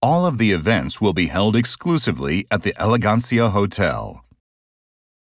All of the events will be held exclusively at the Elegancia Hotel.